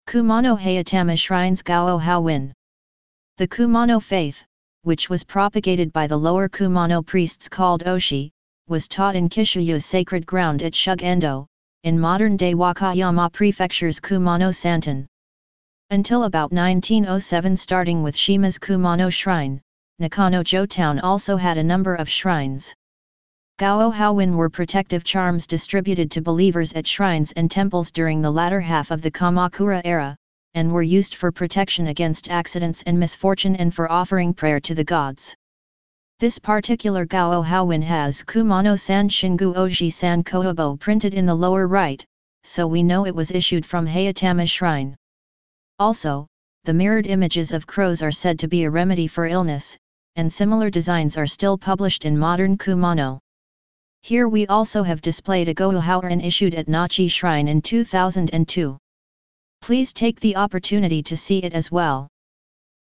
Kumano Hayatama Shrines Gao Hawin. The Kumano faith, which was propagated by the lower Kumano priests called Oshi, was taught in Kishuyu's sacred ground at Shugendo, in modern-day Wakayama Prefecture's Kumano Santon. Until about 1907, starting with Shima's Kumano Shrine, Nakano-jo town also had a number of shrines. Gao Hawin were protective charms distributed to believers at shrines and temples during the latter half of the Kamakura era, and were used for protection against accidents and misfortune and for offering prayer to the gods. This particular Gao Hawin has Kumano-san Shingu Oji-san Kohobo printed in the lower right, so we know it was issued from Hayatama Shrine. Also, the mirrored images of crows are said to be a remedy for illness, and similar designs are still published in modern Kumano. Here we also have displayed a Gao Hawin issued at Nachi Shrine in 2002. Please take the opportunity to see it as well.